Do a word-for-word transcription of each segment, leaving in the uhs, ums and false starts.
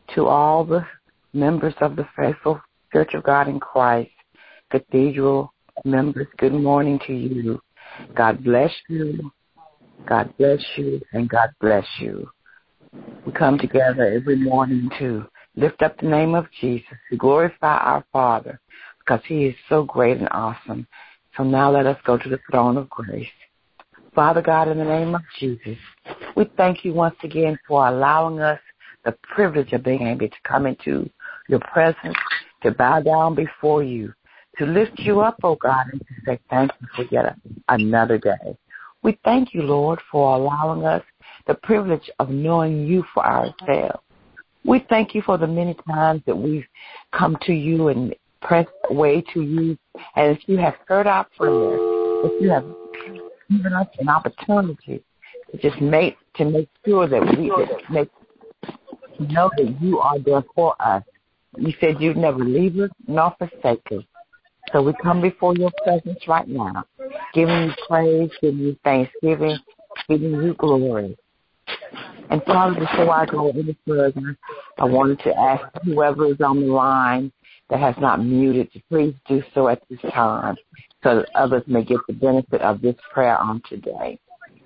To all the members of the Faithful Church of God in Christ, Cathedral members, good morning to you. God bless you, God bless you, and God bless you. We come together every morning to lift up the name of Jesus, to glorify our Father, because he is so great and awesome. So now let us go to the throne of grace. Father God, in the name of Jesus, we thank you once again for allowing us the privilege of being able to come into your presence, to bow down before you, to lift you up, oh God, and to say thank you for yet another day. We thank you, Lord, for allowing us the privilege of knowing you for ourselves. We thank you for the many times that we've come to you and pressed way to you, and if you have heard our prayers, if you have given us an opportunity to just make to make sure that we that make know that you are there for us. You said you'd never leave us nor forsake us. So we come before your presence right now, giving you praise, giving you thanksgiving, giving you glory. And Father, before I go any further, I wanted to ask whoever is on the line that has not muted to please do so at this time so that others may get the benefit of this prayer on today.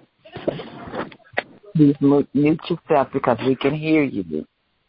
Please mute yourself because we can hear you.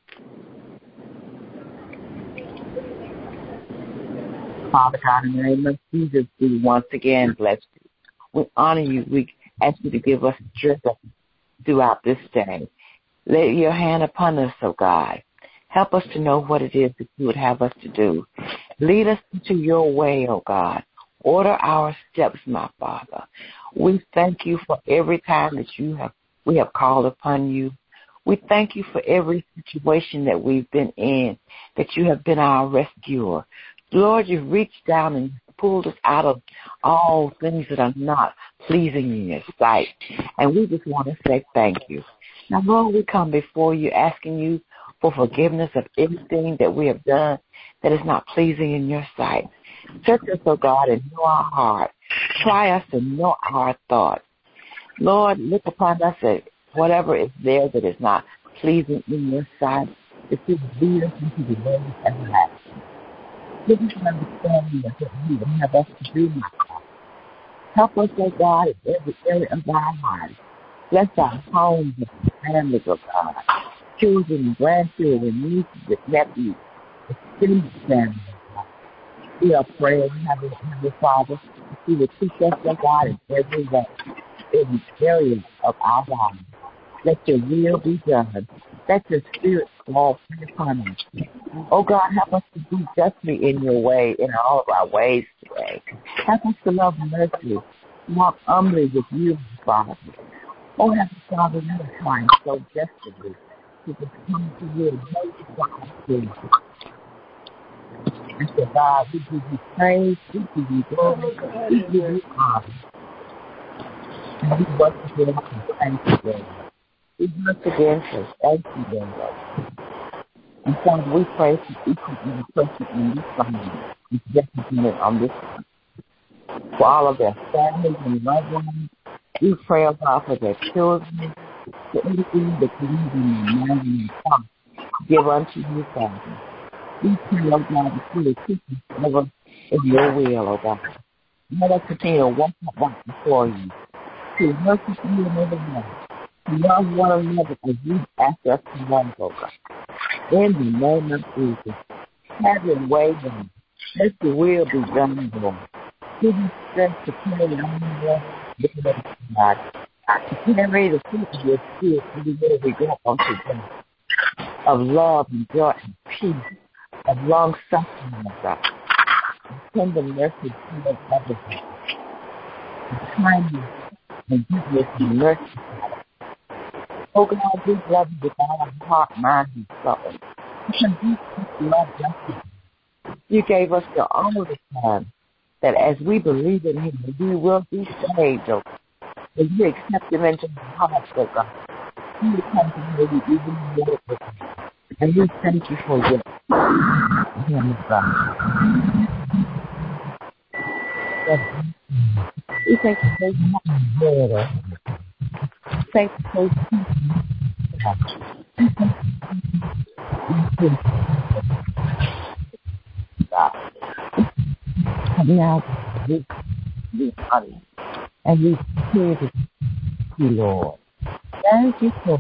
Father God, in the name of Jesus, we once again bless you. We honor you. We ask you to give us strength throughout this day. Lay your hand upon us, oh God. Help us to know what it is that you would have us to do. Lead us into your way, oh God. Order our steps, my Father. We thank you for every time that you have we have called upon you. We thank you for every situation that we've been in, that you have been our rescuer. Lord, you've reached down and pulled us out of all things that are not pleasing in your sight. And we just want to say thank you. Now, Lord, we come before you asking you for forgiveness of anything that we have done that is not pleasing in your sight. Search us, oh God, and know our heart. Try us and know our thoughts. Lord, look upon us at whatever is there that is not pleasing in your sight, that you lead us into the way of everlasting. Give us an understanding of what you would have us to do, my God. Help us, oh God, in every area of our lives. Bless our homes and families, oh God. Children, grandchildren, nieces, and nephews, extended families, oh God. We are praying, Heavenly, Heavenly Father, that you would teach us, oh God, in every way, every area of our lives. Let your will be done. Let your spirit fall upon us. Oh God, help us to do justly in your way, in all of our ways today. Help us to love mercy, walk humbly with you, Father. Oh, Heavenly Father, we are trying so desperately to just come to you and know you for our sins. And so, God, we give you praise, we give you glory, we give you honor. And we once again say thank you, Lord. We once again say thank you, Lord. And Father, we pray for each and every person in this family is represented on this family. For all of their families and loved ones, we pray, oh God, for their children, for everything that you need in their mind and their heart. Give unto you, Father. We pray, oh God, that you will keep us ever in your will, oh God. Let us continue to walk up right before you, to worship you in every way, to love one another as you ask us to love, oh God. In the name of Jesus, have your way, Lord. Let your will be done, Lord. Give us strength to carry on, Lord. God, to carry the fruit of your spirit everywhere we go on today, of love and joy and peace, of long suffering, oh God, of tender mercy to others, of kindness and goodness and mercy. Oh God, we love you with all our heart, mind, and soul. Because you love us. You gave us your only Son, that as we believe in him, we will be saved, oh God. As you accept him into our hearts, oh God, he will come to know you even more, oh God. And we thank you for your Heavenly God. We thank you for your word. Thank you for your And now we, we honor you. And we praise you, Lord. Thank you, Lord.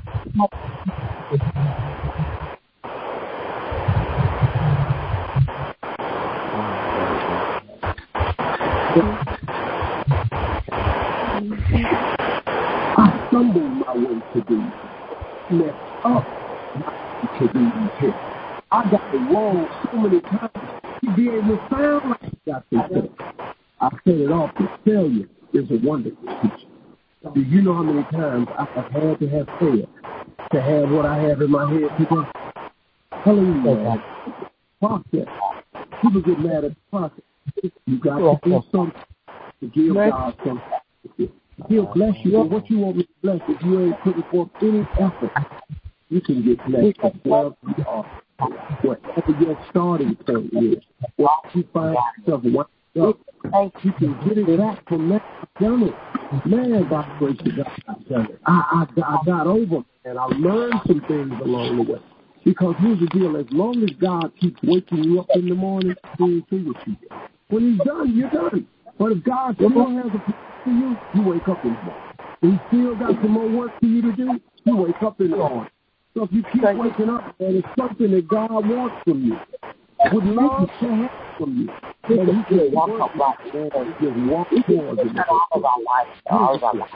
I stumbled my way to thee, messed up to thee here. I got it wrong so many times to be able to sound like I got this. I set it off to tell you is a wonderful teacher. Do you know how many times I have had to have failed to have what I have in my head today? Hallelujah. Process. People get mad at the process. You got to do something to give God something. He'll bless you, but what you want me to bless if you ain't putting forth any effort, you can get blessed as well you are. Whatever your starting point is, once you find yourself one up, you can get it back from that. I've done it. Man, by the grace of God, I've done it. I, I, I got over, and I learned some things along the way. Because here's the deal, as long as God keeps waking you up in the morning, he'll see what you do. When he's done, you're done. But if God still has a plan for you, you wake up in the morning. He still got some more work for you to do, you wake up in the morning. So if you keep waking up, and it's something that God wants from you, would love to have from you. And he can walk up right there and just walk towards it. All of our life, all of our life.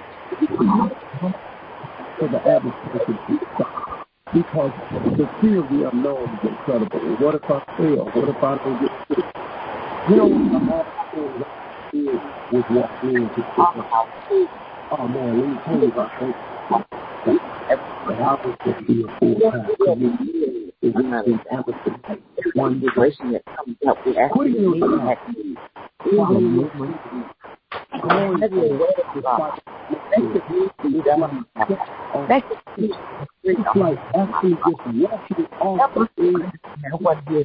So the adversary can keep stopping. Because the fear of the unknown is incredible. What if I fail? What if I don't get sick? You know what the hard thing is with walking into sickness? Oh man, let me tell you about that. The house is be a full time community. Is in Amazon. One generation that comes up with putting your following your going it's like actually just walking off the thing and what is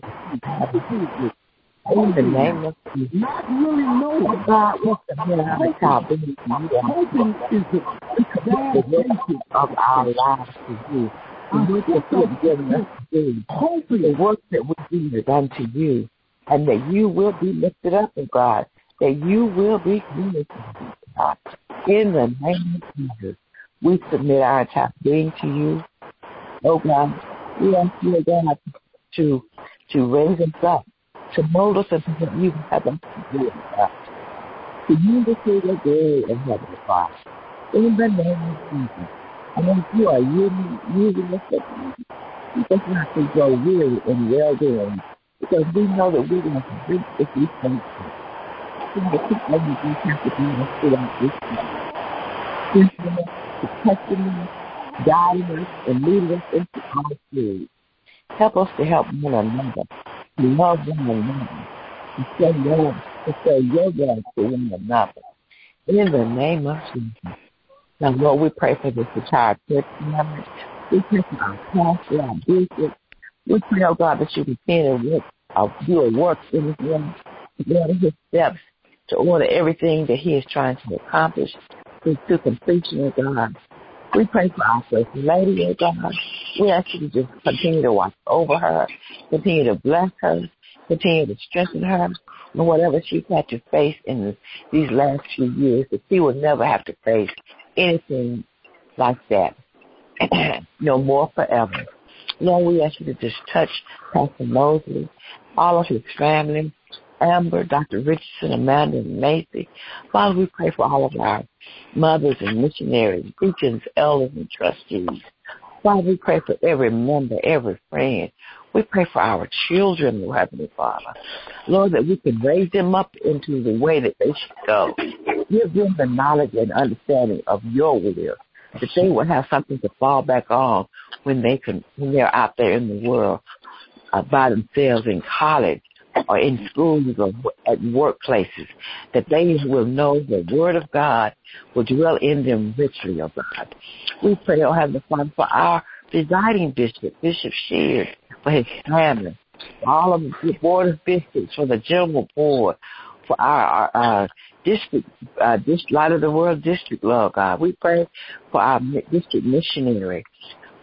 in the name of Jesus. Not really know God wants to be on the top. Hoping is the basic of our lives to you. The work that you've given us to do. Hoping the work that we do is unto you. And that you will be lifted up, oh God. That you will be glorified, God. In the name of Jesus, we submit our entire being to you. Oh God, we ask you, God, to, to raise us up, to mold us into what you have us to do, God. To use us for your glory and heavenly Father. In the name of Jesus. And if you are using, using us, keep us not to grow weary and well doing, because we know that we're going to reach if we thank you. We keep everything have to be us throughout this time. Teaching us, protecting us, guiding us, and leading us into all truth. Help us to help one another, to love one another, to say your, to say your love to one another. In the name of Jesus. Now, Lord, we pray for this entire church family. We pray for our pastor, our bishop. We pray, oh God, that you continue to work, uh, do a work in his life, to order his steps, to order everything that he is trying to accomplish to, to completion, oh God. We pray for our first lady, oh God. We ask you to just continue to watch over her, continue to bless her, continue to strengthen her, and whatever she's had to face in the, these last few years, that she will never have to face anything like that no more forever. Lord, we ask you to just touch Pastor Mosley, all of his family, Amber, Doctor Richardson, Amanda, and Macy. Father, we pray for all of our mothers and missionaries, deacons, elders, and trustees. Father, we pray for every member, every friend. We pray for our children, Lord Heavenly Father. Lord, that we can raise them up into the way that they should go. Give them the knowledge and understanding of your will, that they will have something to fall back on when they can, when they're out there in the world uh, by themselves in college or in schools or at workplaces, that they will know the word of God will dwell in them richly, oh God. We pray, oh Heavenly Father, for our presiding bishop, Bishop Shears, for his family, for all of the board of bishops, for the general board, for our, our uh, district, uh, this Light of the World district, Lord God. We pray for our district missionary,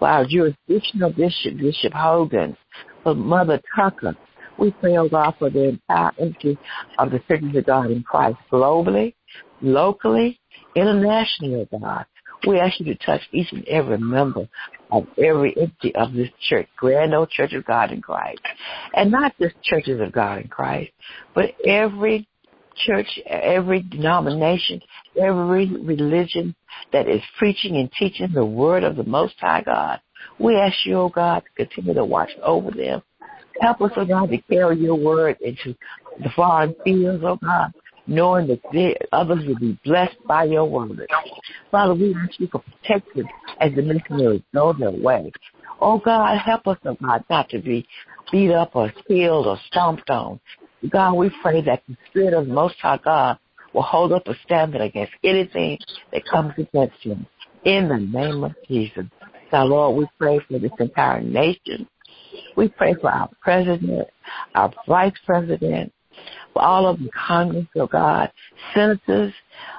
for our jurisdictional bishop, Bishop Hogan, for Mother Tucker. We pray, oh God, for the entire entity of the Churches of God in Christ globally, locally, internationally, oh God. We ask you to touch each and every member of every entity of this church, Grand Old Church of God in Christ. And not just Churches of God in Christ, but every church, every denomination, every religion that is preaching and teaching the word of the Most High God. We ask you, oh God, to continue to watch over them. Help us, oh God, to carry your word into the foreign fields, oh God, knowing that they, others will be blessed by your word. Father, we ask you for protection as the missionaries go their way. Oh God, help us, oh God, not to be beat up or killed or stomped on. God, we pray that the Spirit of the Most High God will hold up a standard against anything that comes against him. In the name of Jesus. Now, Lord, we pray for this entire nation. We pray for our president, our vice president, for all of the Congress, oh God, senators,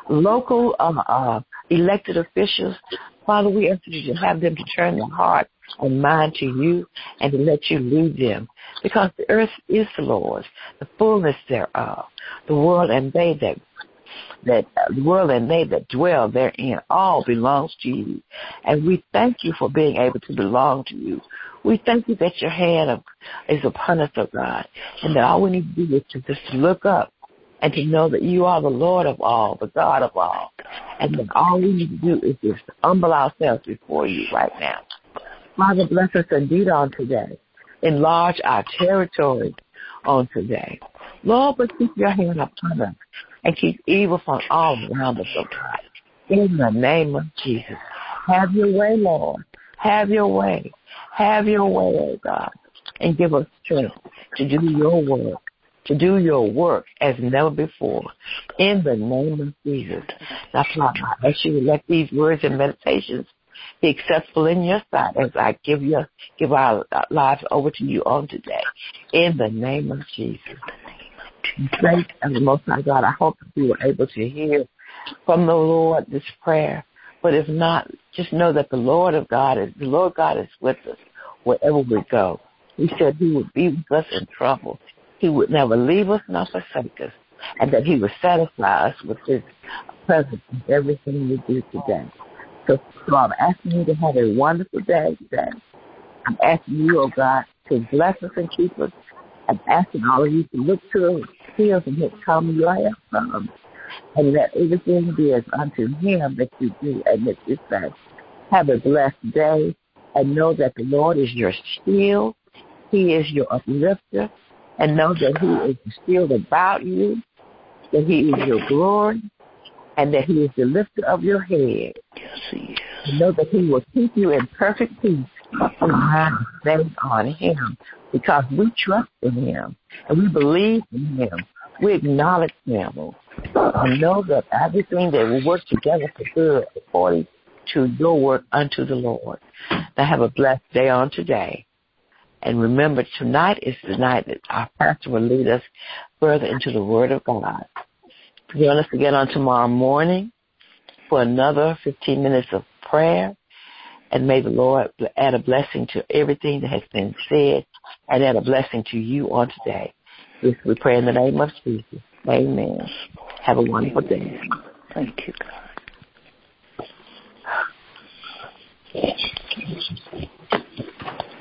local uh, uh, elected officials. Father, we ask you to have them to turn their heart and mind to you and to let you lead them. Because the earth is the Lord's, the fullness thereof, the world and they that that uh, the world and they that dwell therein all belongs to you. And we thank you for being able to belong to you. We thank you that your hand of, is upon us, oh God, and that all we need to do is to just look up and to know that you are the Lord of all, the God of all, and that all we need to do is just humble ourselves before you right now. Father, bless us indeed on today. Enlarge our territory on today. Lord, but keep your hand upon us and keep evil from all around us, oh God. In the name of Jesus. Have your way, Lord. Have your way. Have your way, oh God. And give us strength to do your work, to do your work as never before. In the name of Jesus. Now, Father, I ask you to let these words and meditations be acceptable in your sight as I give you, give our lives over to you on today. In the name of Jesus. Thank you, Most High God. I hope that you were able to hear from the Lord this prayer. But if not, just know that the Lord of God is, the Lord God is with us wherever we go. He said he would be with us in trouble. He would never leave us nor forsake us. And that he would satisfy us with his presence in everything we do today. So, so I'm asking you to have a wonderful day today. I'm asking you, oh God, to bless us and keep us. I'm asking all of you to look to the hills and hit come your help from. And let everything be as unto him that you do and that you say. Have a blessed day and know that the Lord is your shield. He is your uplifter. And know that he is the shield about you, that he is your glory, and that he is the lifter of your head. Yes, he is. And know that he will keep you in perfect peace when you have faith on him, because we trust in him and we believe in him. We acknowledge him. And know that everything that will work together for good according to your work unto the Lord. Now have a blessed day on today. And remember, tonight is the night that our pastor will lead us further into the Word of God. Join us again on tomorrow morning for another fifteen minutes of prayer. And may the Lord add a blessing to everything that has been said and add a blessing to you on today. This we pray in the name of Jesus. Amen. Have a wonderful day. Thank you, God.